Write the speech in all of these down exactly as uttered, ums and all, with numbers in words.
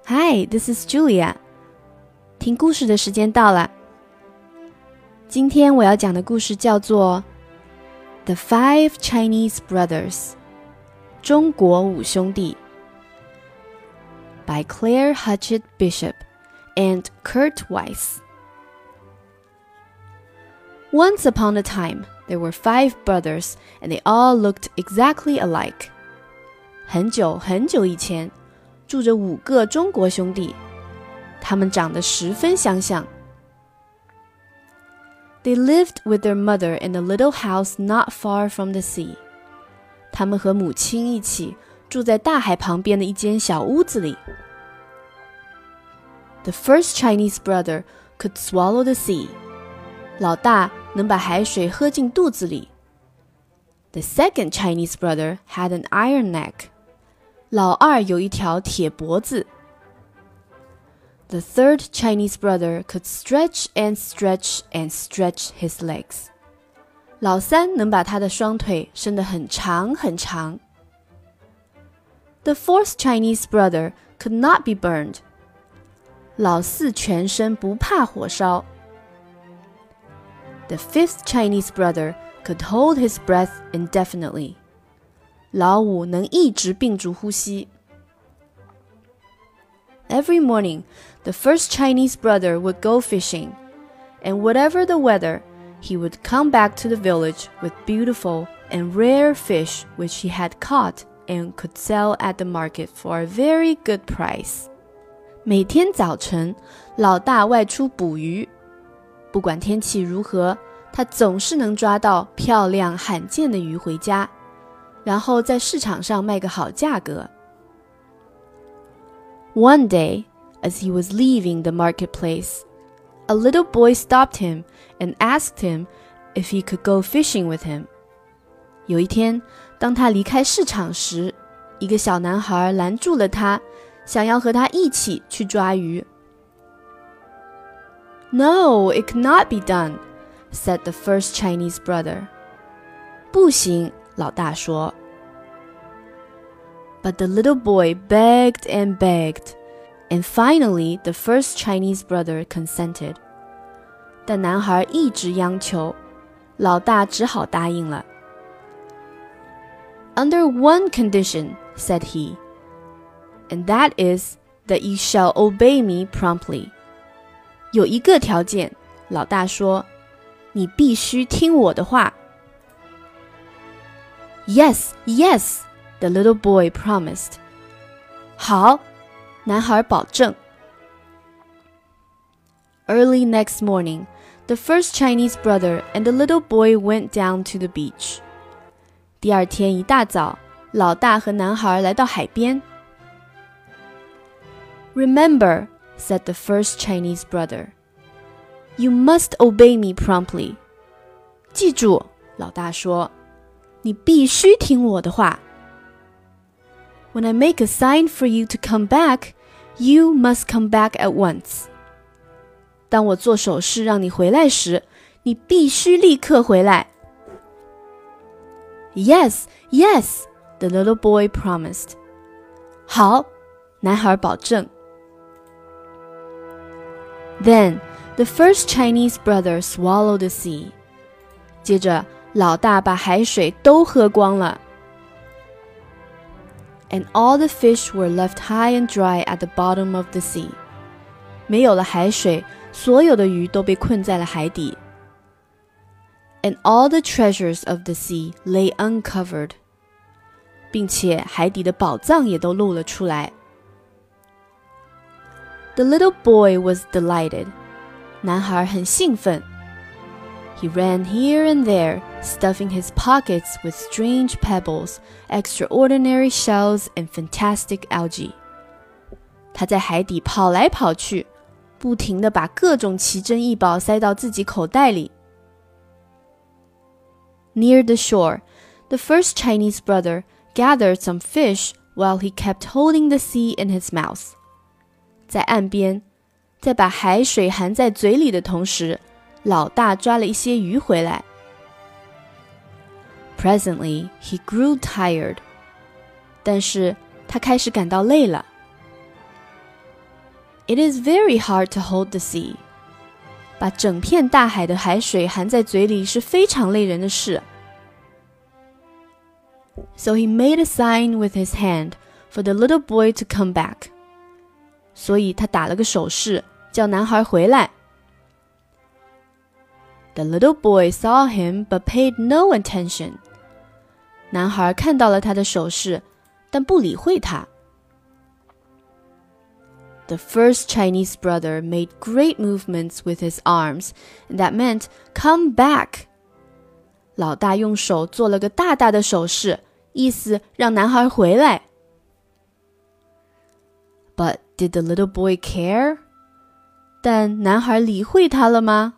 Hi, this is Julia. 听故事的时间到了。今天我要讲的故事叫做 The Five Chinese Brothers 中国五兄弟 by Claire Hutchett Bishop and Kurt Weiss. Once upon a time, there were five brothers, and they all looked exactly alike. 很久很久以前，住着五个中国兄弟，他们长得十分相像。They lived with their mother in a little house not far from the sea. 他们和母亲一起住在大海旁边的一间小屋子里。The first Chinese brother could swallow the sea. 老大能把海水喝进肚子里。The second Chinese brother had an iron neck. 老二有一条铁脖子。The third Chinese brother could stretch and stretch and stretch his legs. 老三能把他的双腿伸得很长很长。The fourth Chinese brother could not be burned. 老四全身不怕火烧。The fifth Chinese brother could hold his breath indefinitely. 老五能一直屏住呼吸。Every morning, the first Chinese brother would go fishing, and whatever the weather, he would come back to the village with beautiful and rare fish which he had caught and could sell at the market for a very good price. 每天早晨，老大外出捕鱼，不管天气如何，他总是能抓到漂亮罕见的鱼回家，然后在市场上卖个好价格。One day, as he was leaving the marketplace, a little boy stopped him and asked him if he could go fishing with him. 有一天，当他离开市场时，一个小男孩拦住了他，想要和他一起去抓鱼。No, it cannot be done, said the first Chinese brother. 不行，老大说。But the little boy begged and begged, and finally the first Chinese brother consented. 但男孩一直央求，老大只好答应了。Under one condition, said he, and that is that you shall obey me promptly. 有一个条件，老大说，你必须听我的话。Yes, yes, the little boy promised. 好，男孩保证。Early next morning, the first Chinese brother and the little boy went down to the beach. 第二天一大早，老大和男孩来到海边。Remember, said the first Chinese brother, you must obey me promptly. 记住，老大说，你必须听我的话。When I make a sign for you to come back, you must come back at once. 当我做手势让你回来时，你必须立刻回来。Yes, yes, the little boy promised. 好，男孩保证。Then, the first Chinese brother swallowed the sea. 接着，老大把海水都喝光了。And all the fish were left high and dry at the bottom of the sea. 没有了海水，所有的鱼都被困在了海底。And all the treasures of the sea lay uncovered. 并且海底的宝藏也都露了出来。The little boy was delighted. 男孩很兴奋。He ran here and there, stuffing his pockets with strange pebbles, extraordinary shells, and fantastic algae. 他在海底跑来跑去，不停地把各种奇珍异宝塞到自己口袋里。Near the shore, the first Chinese brother gathered some fish while he kept holding the sea in his mouth. 在岸边，在把海水含在嘴里的同时，老大抓了一些鱼回来。Presently, he grew tired. 但是他开始感到累了。 It is very hard to hold the sea. 把整片大海的海水含在嘴里是非常累人的事。So he made a sign with his hand for the little boy to come back. 所以他打了个手势，叫男孩回来。The little boy saw him but paid no attention. 男孩看到了他的手势，但不理会他。The first Chinese brother made great movements with his arms, and that meant, come back. 老大用手做了个大大的手势，意思让男孩回来。But did the little boy care? 但男孩理会他了吗？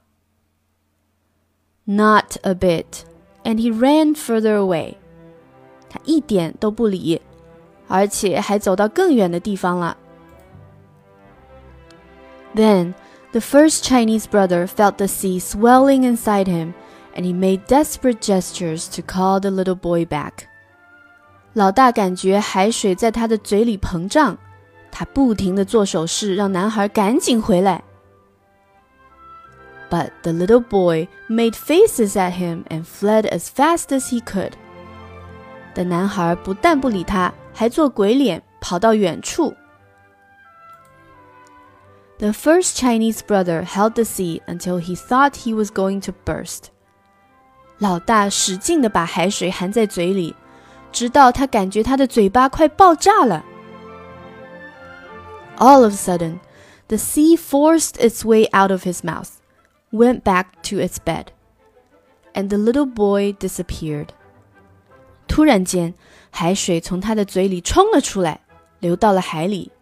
Not a bit, and he ran further away. 他一点都不理，而且还走到更远的地方了。Then, the first Chinese brother felt the sea swelling inside him, and he made desperate gestures to call the little boy back. 老大感觉海水在他的嘴里膨胀，他不停地做手势，让男孩赶紧回来。But the little boy made faces at him and fled as fast as he could. 但男孩不但不理他，还做鬼脸，跑到远处。The first Chinese brother held the sea until he thought he was going to burst. 老大使劲地把海水含在嘴里，直到他感觉他的嘴巴快爆炸了。All of a sudden, the sea forced its way out of his mouth, went back to its bed, and the little boy disappeared. 突然间，海水从他的嘴里冲了出来，流到了海里。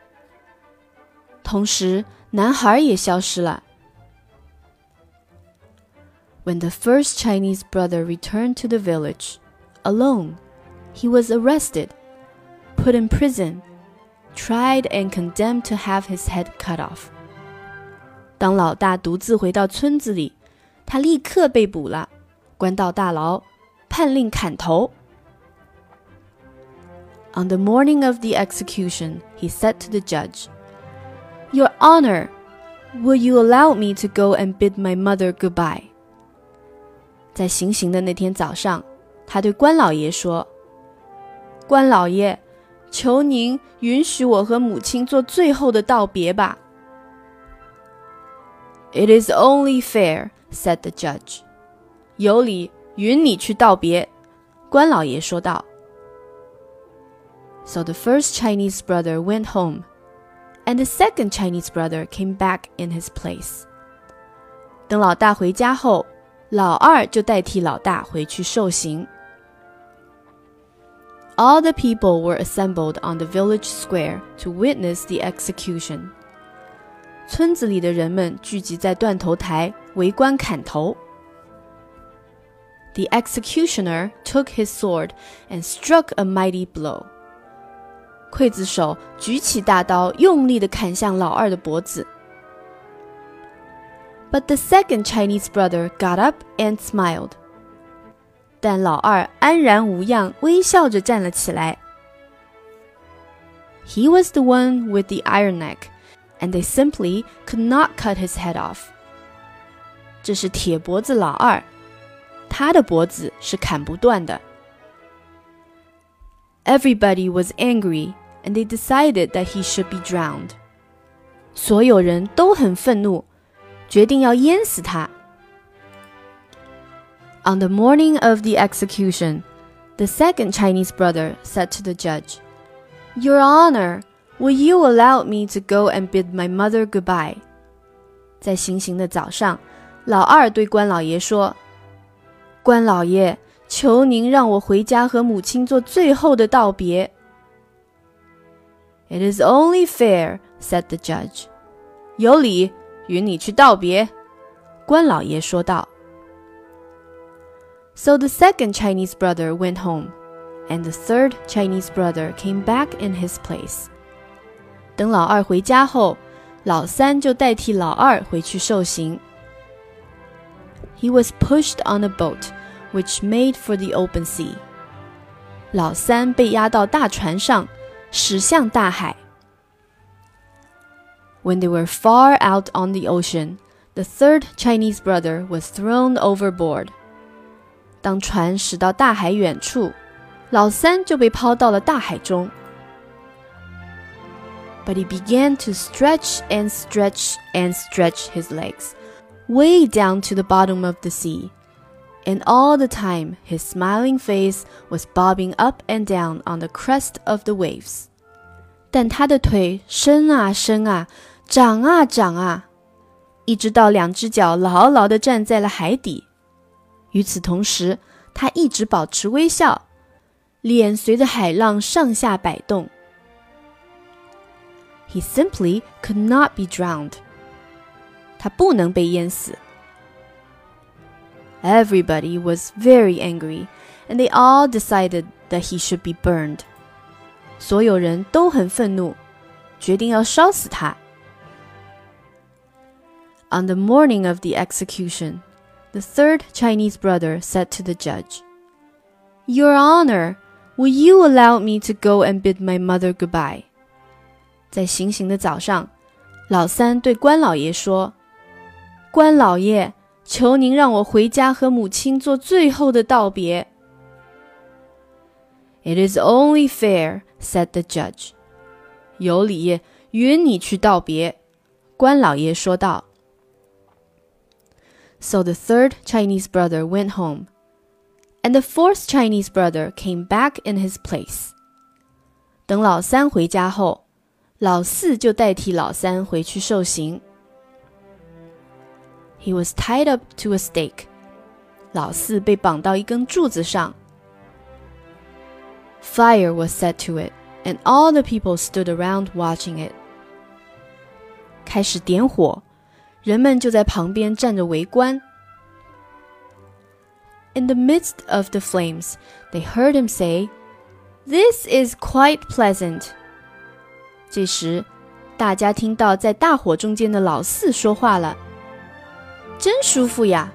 同时，男孩也消失了。When the first Chinese brother returned to the village, alone, he was arrested, put in prison, tried and condemned to have his head cut off. 当老大独自回到村子里，他立刻被捕了，关到大牢，判令砍头。On the morning of the execution, he said to the judge, Your Honor, will you allow me to go and bid my mother goodbye? 在行刑的那天早上，他对关老爷说，关老爷，求您允许我和母亲做最后的道别吧。It is only fair, said the judge. 有理，允你去道别，关老爷说道。So the first Chinese brother went home, and the second Chinese brother came back in his place. 等老大回家后，老二就代替老大回去受刑。All the people were assembled on the village square to witness the execution. 村子里的人们聚集在断头台，围观砍头。The executioner took his sword and struck a mighty blow. 刽子手举起大刀，用力地砍向老二的脖子。But the second Chinese brother got up and smiled. 但老二安然无恙，微笑着站了起来。He was the one with the iron neck, and they simply could not cut his head off. 这是铁脖子老二，他的脖子是砍不断的。Everybody was angry, and they decided that he should be drowned. 所有人都很愤怒，决定要淹死他。On the morning of the execution, the second Chinese brother said to the judge, Your Honor, will you allow me to go and bid my mother goodbye? 在行刑的早上，老二对关老爷说，关老爷，求您让我回家和母亲做最后的道别。It is only fair, said the judge. 有理，允你去道别，关老爷说道。So the second Chinese brother went home, and the third Chinese brother came back in his place. 等老二回家后，老三就代替老二回去受刑。He was pushed on a boat, which made for the open sea. 老三被押到大船上，驶向大海。 When they were far out on the ocean, the third Chinese brother was thrown overboard. 当船驶到大海远处，老三就被抛到了大海中。But he began to stretch and stretch and stretch his legs, way down to the bottom of the sea. And all the time, his smiling face was bobbing up and down on the crest of the waves. 但他的腿伸啊伸啊，长啊长啊，一直到两只脚牢牢地站在了海底。与此同时，他一直保持微笑，脸随着海浪上下摆动。He simply could not be drowned. 他不能被淹死。Everybody was very angry, and they all decided that he should be burned. 所有人都很愤怒，决定要烧死他。On the morning of the execution, the third Chinese brother said to the judge, "Your Honor, will you allow me to go and bid my mother goodbye?" 在行刑的早上，老三对关老爷说：“关老爷，求您让我回家和母亲做最后的道别。” "It is only fair," said the judge. 有理，允你去道别。关老爷说道。So the third Chinese brother went home, and the fourth Chinese brother came back in his place. 等老三回家后，老四就代替老三回去受刑。He was tied up to a stake. 老四被绑到一根柱子上。Fire was set to it, and all the people stood around watching it. 开始点火，人们就在旁边站着围观。In the midst of the flames, they heard him say, "This is quite pleasant." 这时，大家听到在大火中间的老四说话了：“真舒服呀！”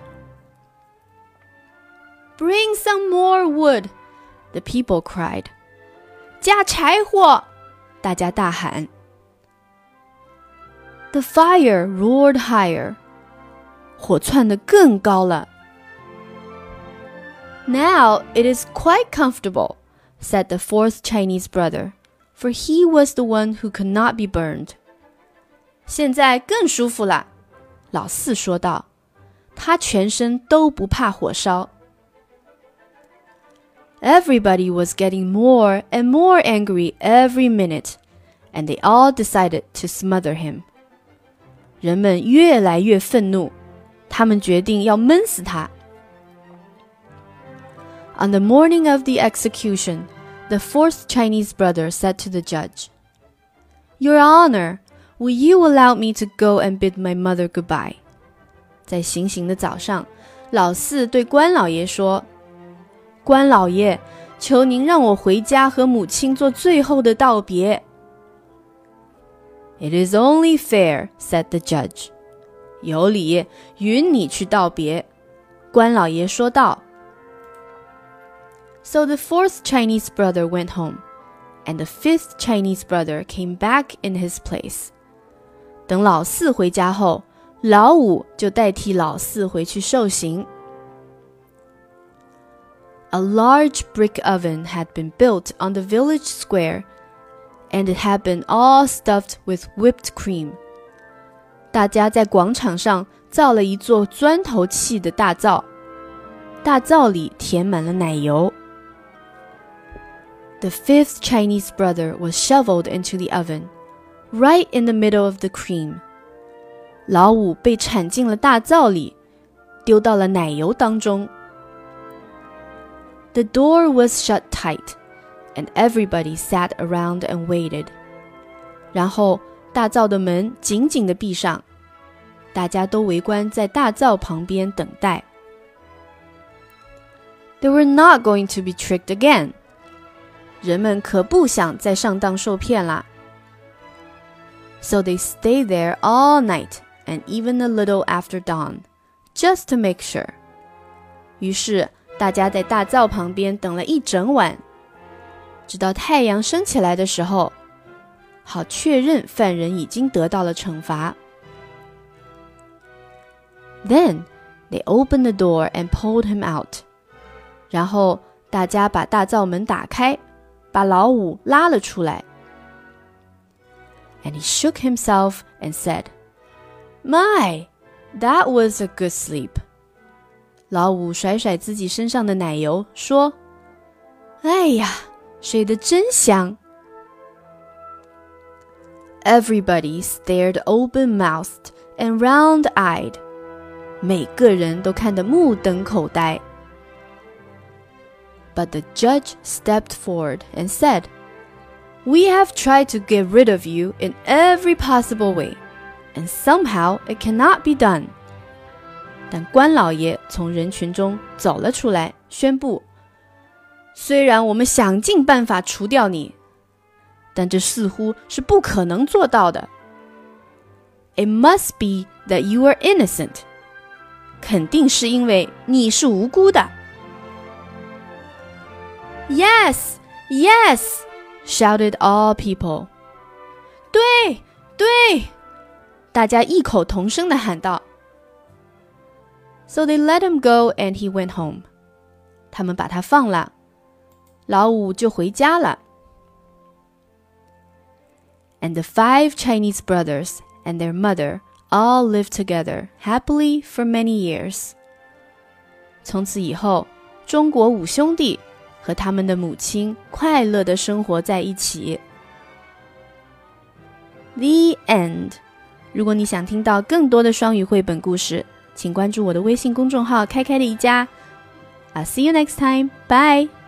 "Bring some more wood," the people cried. 加柴火！大家大喊。The fire roared higher. 火窜得更高了。Now it is quite comfortable, said the fourth Chinese brother, for he was the one who could not be burned. 现在更舒服了，老四说道，他全身都不怕火烧。Everybody was getting more and more angry every minute, and they all decided to smother him. 人们越来越愤怒，他们决定要闷死他。On the morning of the execution, the fourth Chinese brother said to the judge, "Your Honor, will you allow me to go and bid my mother goodbye?" 在行刑的早上，老四对关老爷说：“关老爷，求您让我回家和母亲做最后的道别。” It is only fair, said the judge. 有理，允你去道别。关老爷说道。So the fourth Chinese brother went home, and the fifth Chinese brother came back in his place. 等老四回家后，老五就代替老四回去受刑。A large brick oven had been built on the village square, and it had been all stuffed with whipped cream. 大家在广场上造了一座砖头砌的大灶，大灶里填满了奶油。The fifth Chinese brother was shoveled into the oven, right in the middle of the cream. 老五被铲进了大灶里，丢到了奶油当中。The door was shut tight, and everybody sat around and waited. 然后大灶的门紧紧地闭上，大家都围观在大灶旁边等待。They were not going to be tricked again. 人们可不想再上当受骗啦。So they stayed there all night and even a little after dawn, just to make sure. 于是大家在大灶旁边等了一整晚，直到太阳升起来的时候， 好确认犯人已经得到了惩罚。Then they opened the door and pulled him out. 然后大家把大灶门打开，把老五拉了出来。And he shook himself and said, My, that was a good sleep. 老五甩甩自己身上的奶油，说：哎呀，睡得真香。Everybody stared open-mouthed and round-eyed. 每个人都看得目瞪口呆。But the judge stepped forward and said, We have tried to get rid of you in every possible way, and somehow it cannot be done. 但官老爷从人群中走了出来，宣布：虽然我们想尽办法除掉你，但这似乎是不可能做到的。It must be that you are innocent. 肯定是因为你是无辜的。Yes, yes, shouted all people. 对，对，大家异口同声地喊道。So they let him go and he went home. 他们把他放了，老五就回家了。And the five Chinese brothers and their mother all lived together happily for many years. 从此以后，中国五兄弟和他们的母亲快乐地生活在一起。The end. 如果你想听到更多的双语绘本故事，请关注我的微信公众号开开的一家。I'll see you next time. Bye.